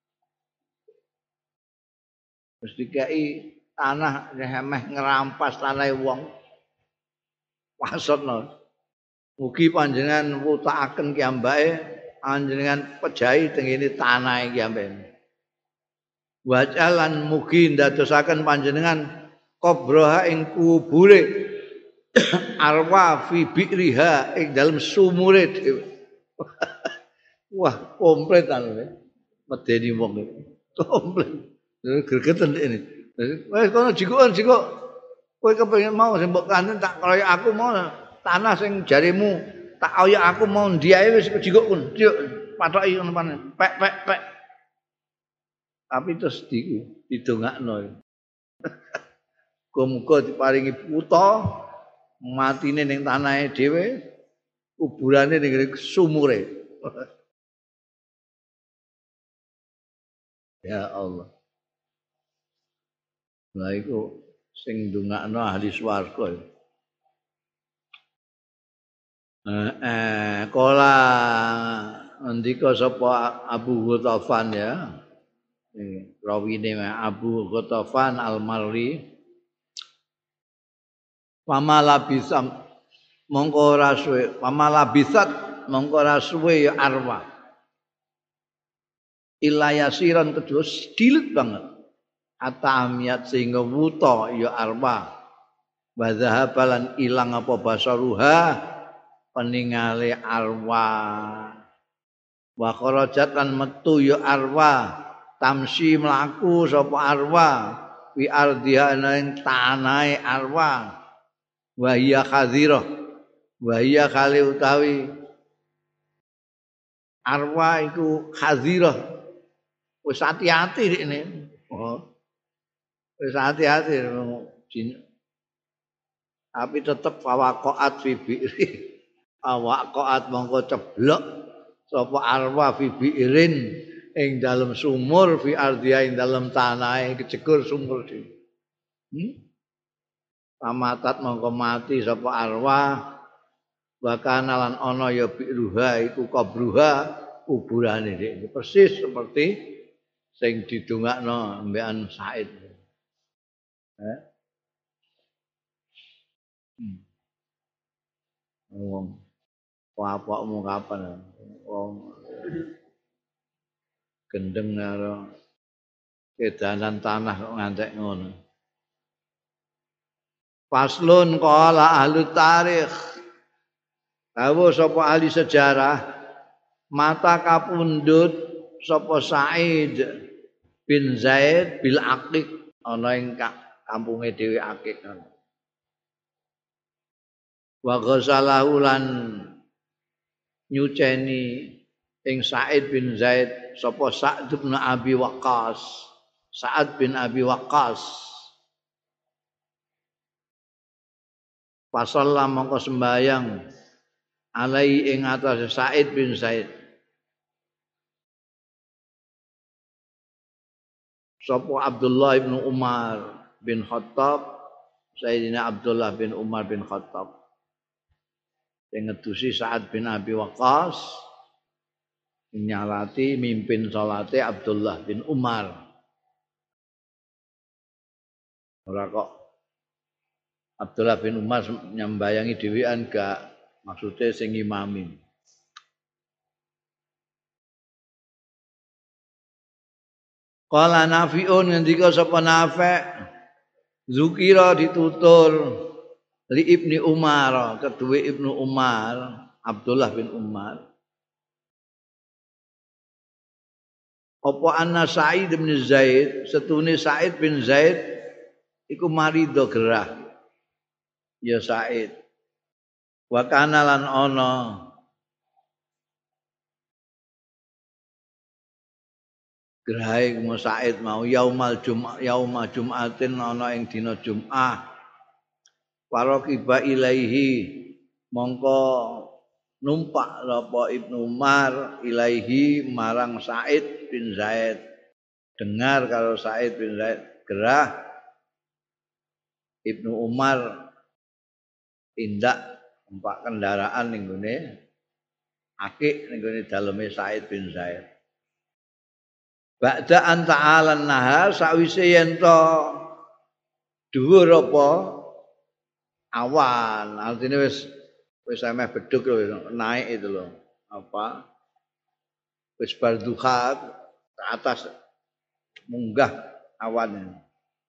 wis dikai tanah remeh ngerampas tanahe wong wasotno mugi panjenengan wutakaken ki ambake panjenengan pejahi tengene tanahe ki ambake wajalan mugi ndadosaken panjenengan kubroha ing kubure arwa fi bi'riha ing dalem sumure dhewe wah komplit anu medeni wong iki komplit gregeten ini wis kono jikuk kowe kepengin mau sing mbok kanten tak kaya aku mau tanah sing jarimu tak kaya aku mau ndiae wis jikuk pun juk patoki ngono panen pek tapi terus didongakno muga diparingi putra matine ning tanahe dhewe kuburane ning sumure ya Allah Lah iku sing ndongakno ahli swarga. Kala ndika sapa Abu Ghatafan ya. Rawine Abu Ghatafan Al-Marri. Pamalabisam mongko ora suwe, pamalabisat mongko ora suwe ya arwah. Ilayasiran kedus dilut banget. Atamiat sehingga wuta ya arwah wa zahabalan ilang apa basaruha peningale arwah wa kharajat lan metu ya arwah tamsi mlaku sapa arwah fi ardiha ing tanahe arwah wa hiya khadhirah wa hiya kali utawi arwah iku khadhirah wis ati-ati rene Wis hati-hati tapi tetep fawaqaat fi bi'ri. Awaqaat mongko ceblok sapa arwa fi bi'rin ing dalem sumur fi ardia ing dalem tanahe kecekur sumur iki. Pamatat mongko mati sapa arwa bakana lan ana ya bi'ruha iku qabruha kuburane iki persis seperti sing didongakno mbekan Said. Wong apakmu kapan wong gendeng karo kedanan tanah kok ngantek ngono. Faslun qala ahli tarikh. Dawuh sapa ahli sejarah mata kapundhut sapa Said bin Zaid bil Aqiq ana ing kampunge dhewe Aqiq. Wa ghasalahu lan nyuceni ing Said bin Zaid sapa Sa'd bin Abi Waqqas. Sa'ad bin Abi Waqqas. Pasalla mongko sembayang alai ing atase Said bin Zaid. Sapa Abdullah bin Umar bin Khattab, Sayyidina Abdullah bin Umar bin Khattab. Sing ngedusi Sa'ad bin Abi Waqqas nyalati mimpin salate Abdullah bin Umar. Ora kok Abdullah bin Umar nyambayangi dhewean gak maksude sing imami. Qala Nafi'un ngendika sapa Nafi' zukira ditutur li Ibni Umar kedue Ibnu Umar Abdullah bin Umar apa anna Sa'id bin Zaid setune Sa'id bin Zaid iku marido gerah ya Sa'id wa kana lan ana gerahe Sa'id mau yauma Jum'atin ana ing dina Jum'ah waroqiba ilaihi mongko numpak apa Ibnu Umar ilaihi marang Sa'id bin Zaid dengar kalau Sa'id bin Zaid gerah Ibnu Umar tindak numpak kendaraan ning gone Aqiq ning gone daleme Sa'id bin Zaid ba'da an ta'ala nahar sawise yen to dhuwur apa awan artine wis ameh beduk lho naik itu lho apa wis bar duha ke atas munggah awan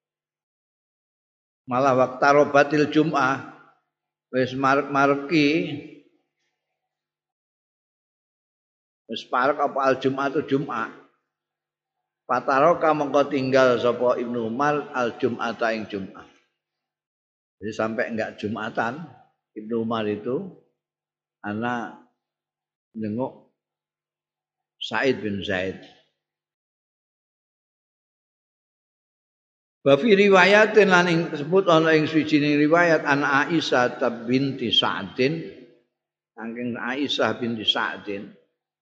malah waktu robatil Jum'ah wis mareki wis parek apa al Jum'ah itu Jum'ah Pataroka mengko tinggal sapa Ibnu Umar al Jum'ata ing Jum'ah. Jadi sampai enggak Jum'atan Ibnu Umar itu anak nengok Sa'id bin Zaid. Wa fi riwayatin lan ing disebut ana ing suwijining riwayat an Aisyah binti Sa'din saking Aisyah binti Sa'din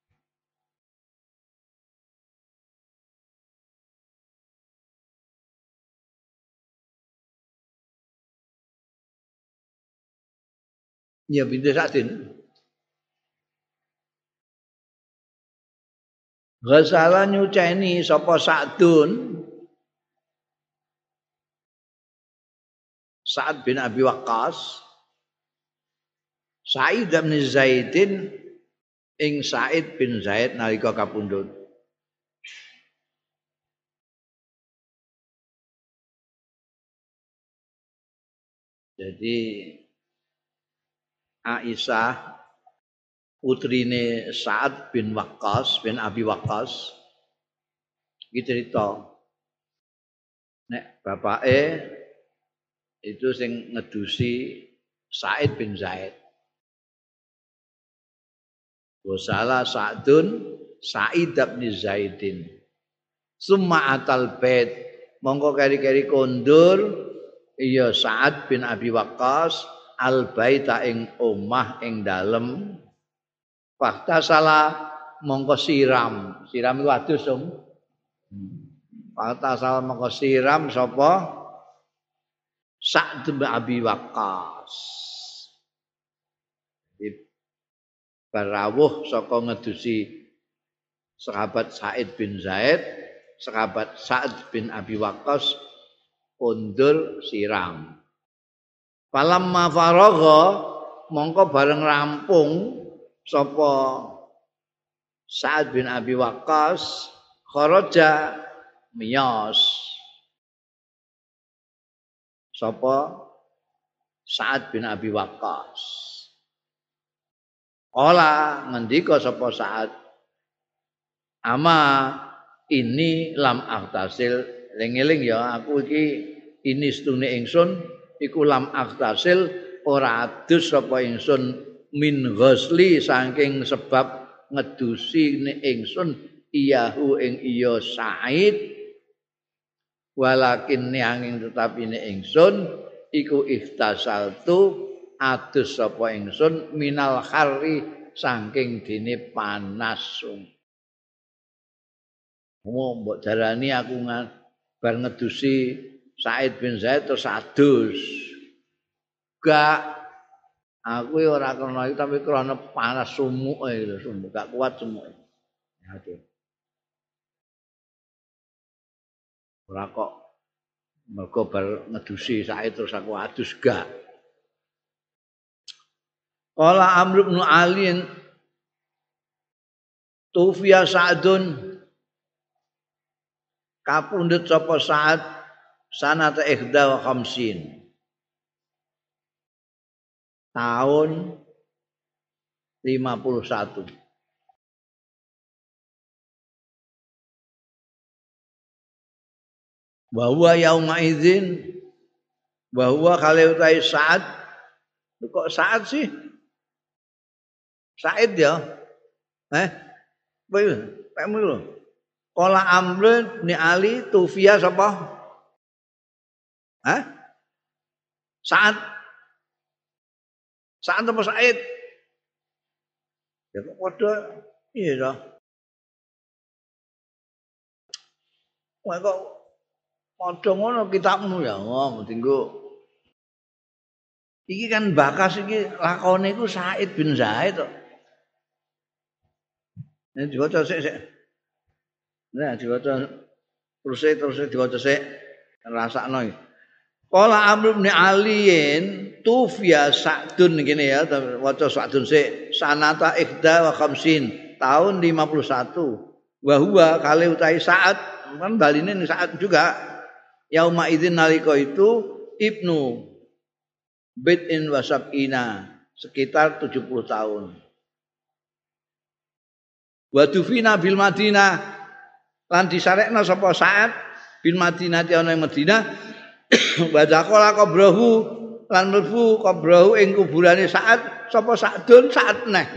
ya binti Sa'din Ghazala nyuceni sapa Sa'dun Sa'ad bin Abi Waqqas Sa'id bin Zaidin ing Sa'id bin Zaid nalika kapundhut jadi Aisyah putrine Sa'ad bin Waqqas bin Abi Waqqas iki cerita nek bapake itu sing ngedusi Sa'id bin Zaid. Wasala Sa'dun Sa'id bin Zaidin. Summa atal bait mongko keri-keri kondur iya Sa'ad bin Abi Waqqas al baita ing omah ing dalem fakta salah mongko siram iku adus fakta salah mongko siram sapa Sa'ad bin Abi Waqqas barawuh saka ngedusi sahabat Sa'id bin Zaid sahabat Sa'ad bin Abi Waqqas kondur siram. Falamma faragha mongko bareng rampung sapa Sa'ad bin Abi Waqqas kharaja miyos. Sapa Sa'ad bin Abi Waqqas. Ola ngendika sapa Sa'ad ama ini lam aghtasil eling-eling ya aku iki ini stune ingsun iku lam aghtasil ora adus sapa ingsun min ghusli saking sebab ngedusi ingsun iyahu ing iya Sa'id walakin angin tetapi ingsun iku iftasaltu adus sapa ingsun minal kharri saking dene panas. Mbok darani aku bar ngedusi Sa'id bin Zaid terus adus. Gak aku ora krana itu tapi krana panas sumuke lho, sumuk gak kuat sumuke. Aduh. Ora kok mergo bar ngedusi Sa'id terus aku adus gak. Qala Amr bin Ali Tufiya Sa'dun kapundhut sapa Sa'ad sanata ikhda wa khamsin tahun 51 bahwa yauma idzin bahwa kale utai Sa'ad kok Sa'ad sih Sa'id ya pemu lho Qala Amr bin Ali Tufiya sapa? Sa'ad. Sa'ad apa Sa'id? Ya kok padha iya to. Wah kok padha ngono kitabmu ya, mendinggo. Iki kan bakas iki lakone iku Sa'id bin Zaid to. Nek diwaca sik. Nah, diwaca terus diwaca sik rasakno iki. Qala Amr bin Aliin tufiya Sa'dun ngene ya, waca Sa'dun sik sanata ikhda wa khamsin tahun 51. Wa huwa kale utai Sa'ad kan baline Sa'ad juga. Yauma idzin nalika itu Ibnu Bid'in wa sab'ina sekitar 70 tahun. Wa dufina bil Madinah lan disarekna sapa Sa'ad bin Madinah ana ing Madinah wa daqala qabrahu lan mlebu qabrahu ing kuburane Sa'ad sapa Sa'dun Sa'ad neh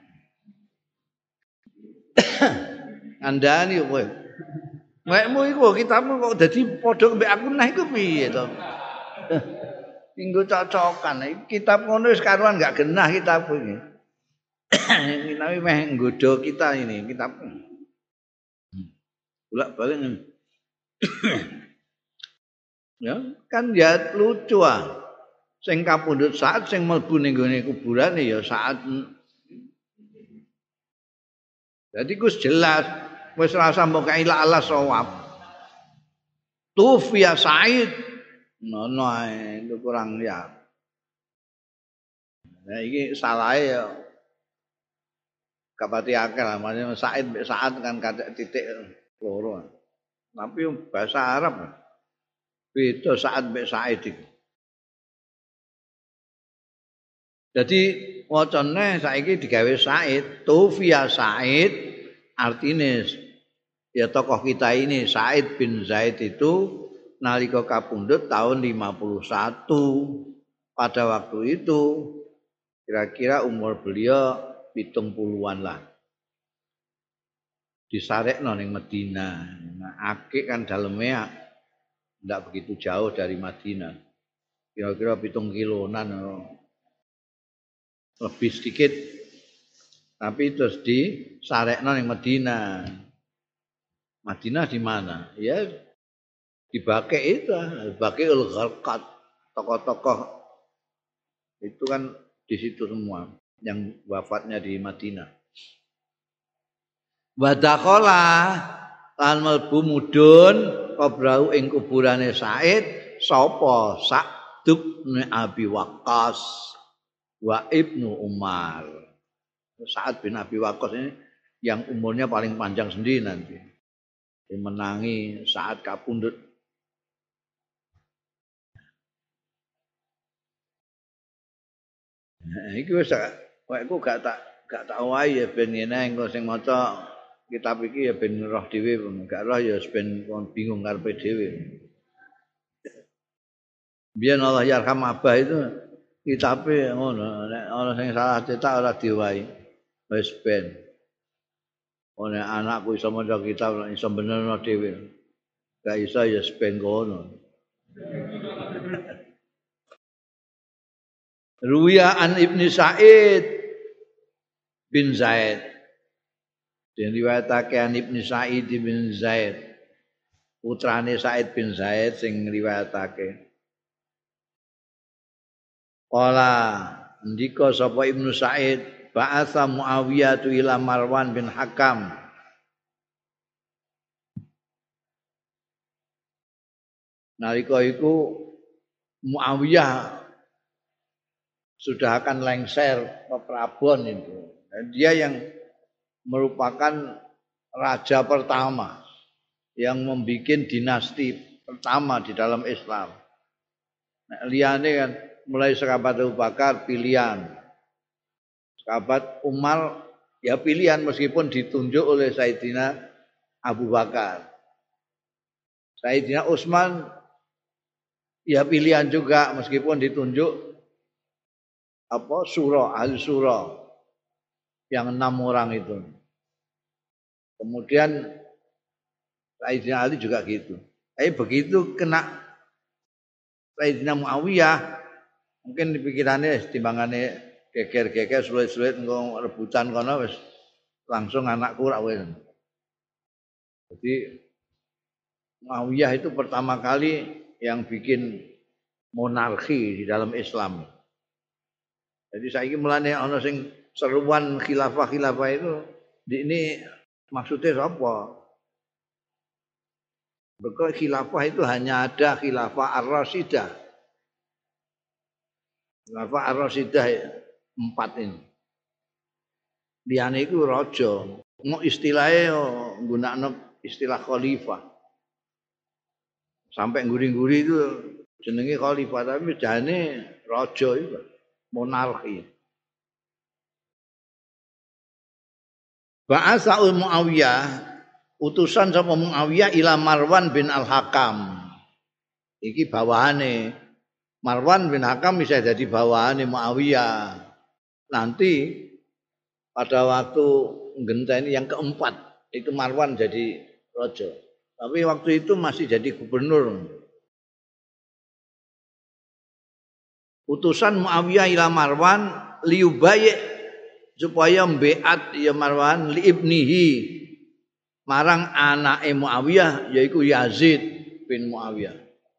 andani kowe mekmu iku kitabmu kok dadi padha mbek aku neh iku piye to tinggo cocokan kitab ngono wis karuan gak genah kitab iki kita meh nggodho kita ini kitab bolak-balik ya kan ya lucu sing kapundhut Sa'ad sing mlebu ning gone kuburane ya Sa'ad dadi kus jelas wis rasa mbok ila Allah sawab tufiya Sa'id ngono ae itu kurang ya nah iki salahe ya kapati akeh lah maksudnya Sa'id kan kadek titik loro. Tapi bahasa Arab beda Sa'ad mek Sa'id iki. Dadi wacane saiki digawe Sa'id, Tufiya Sa'id artine ya tokoh kita ini Sa'id bin Zaid itu nalika kapundhut tahun 51. Pada waktu itu kira-kira umur beliau 70-an lah. Disarekno ning Madinah. Nah, akik kan daleme tidak begitu jauh dari Madinah. Kira-kira 7 kilonan lebih sedikit. Tapi terus disarekno ning Madinah. Madinah di mana? Ya di Baqi itu, Baqiul Gharqad. Tokoh-tokoh itu kan di situ semua yang wafatnya di Madinah. Wadakhala lan mlebu mudhun qabrau ing kuburane Said sapa Sa'd bin Abi Waqqas wa Ibnu Umar. Sa'ad bin Abi Waqqas ini yang umurnya paling panjang sendiri nanti. Menangi Sa'ad kapundhut. Nah, iki wis aku gak tak wae ya ben ngene engko sing maca kitab iki ya ben roh dhewe, gak roh ya ben bingung karepe dhewe. Biyen Allah yarham Abah itu kitabe ngono, nek ana sing salah cetak ora diwai. Wis ben. Ono anakku iso maca kitab iso benerno dhewe. Gak iso ya ben ngono. Ruya an Ibnu Sa'id bin Zaid. Dan riwayatake an Ibnu Sa'id bin Zaid. Putrane Sa'id bin Zaid sing riwayatake. Qala ndika sapa Ibnu Sa'id ba'atha Muawiyah ila Marwan bin Hakam. Nalika iku Muawiyah sudah akan lengser ke Prabon itu. Dan dia yang merupakan raja pertama yang membuat dinasti pertama di dalam Islam. Nah, liyane kan mulai sahabat Abu Bakar pilihan. Sahabat Umar ya pilihan meskipun ditunjuk oleh Sayyidina Abu Bakar. Sayyidina Utsman ya pilihan juga meskipun ditunjuk ahli surah yang 6 orang itu. Kemudian Sayyidina Ali juga gitu. Tapi begitu kena Sayyidina Muawiyah mungkin pikirannya timbangannya geger-geger sulit-sulit engko rebutan kono wis langsung anakku ra wis. Jadi Muawiyah itu pertama kali yang bikin monarki di dalam Islam. Jadi saiki mulane ana sing seruan khilafah-khilafah itu ini maksudnya apa? Berkah khilafah itu hanya ada khilafah ar-Rasyidah. Khilafah ar-Rasyidah 4 ini. Liyane iku raja. Mau istilahnya nggunakno istilah khalifah. Sampai nguri-nguri itu jenenge khalifah tapi jane raja itu. Monarki. Ba'atsa'ul Muawiyah utusan sapa Muawiyah ila Marwan bin Al-Hakam. Iki bawahane Marwan bin Hakam bisa jadi bawahane Muawiyah. Nanti pada waktu ngenteni yang keempat itu Marwan jadi raja. Tapi waktu itu masih jadi gubernur. Utusan Muawiyah ila Marwan liubayi supaya mbeat ya Marwan li ibnihi marang anake Muawiyah yaiku Yazid bin Muawiyah.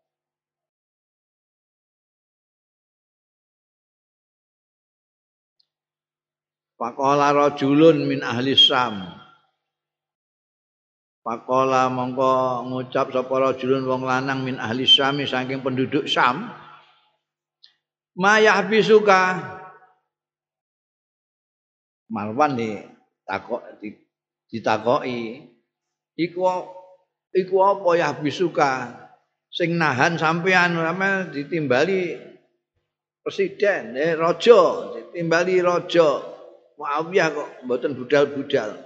Faqala rajulun min ahli Syam. Faqala mongko ngucap sapa rajulun wong lanang min ahli Syam saking penduduk Syam. Ma yahbisuka Marwan ditakoki iku apa yahbisuka sing nahan sampean sampe ditimbali presiden raja ditimbali raja Muawiyah kok mboten budal-budal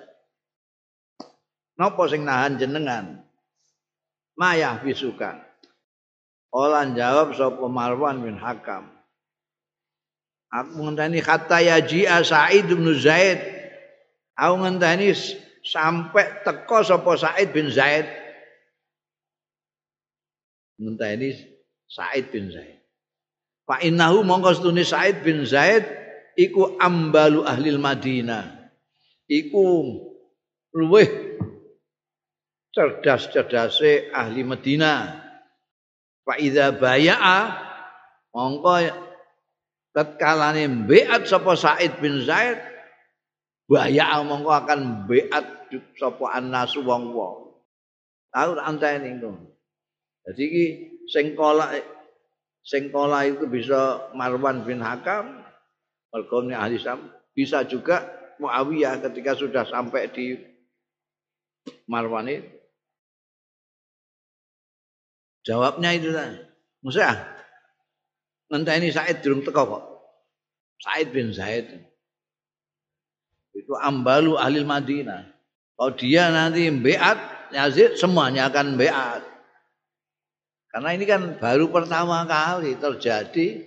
napa sing nahan jenengan ma yahbisuka olan jawab sapa Marwan bin Hakam. Aku ngenteni kata yaji'a Sa'id bin Zaid. Aku ngenteni sampai teko sapa Sa'id bin Zaid. ngenteni Said bin Zaid. Fa innahu mongko stune Said bin Zaid iku ambalu ahli Madinah. Iku luweh cerdas-cerdase ahli Madinah. Fa idza baya'a mongko tatkalane beat sapa Said bin Zaid baya'a mongko akan beat sapa annasu wong-wong. Tahu tak anteni iku. Jadi iki sing kola itu bisa Marwan bin Hakam, mergone ahli Syam, bisa juga Muawiyah ketika sudah sampai di Marwan itu. Jawabnya itu kan. Musa ngenteni Said durung teko kok. Said bin Zaid. Itu ambalu ahli Madinah. Kalau dia nanti beat Yazid semuanya akan beat. Karena ini kan baru pertama kali terjadi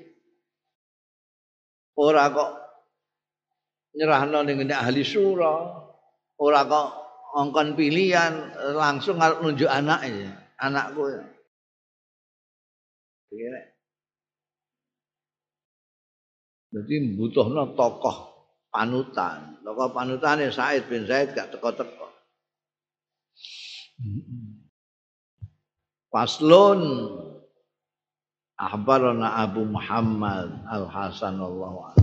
ora kok nyerahno ning ahli syura, ora kok ngongkon pilihan langsung arep nunjuk anaknya, anakku. Jadi butuhno tokoh panutan. Tokoh panutane Said bin Zaid gak teko-teko. Faslun ahbarana Abu Muhammad Al-Hasan wallahu a'lam.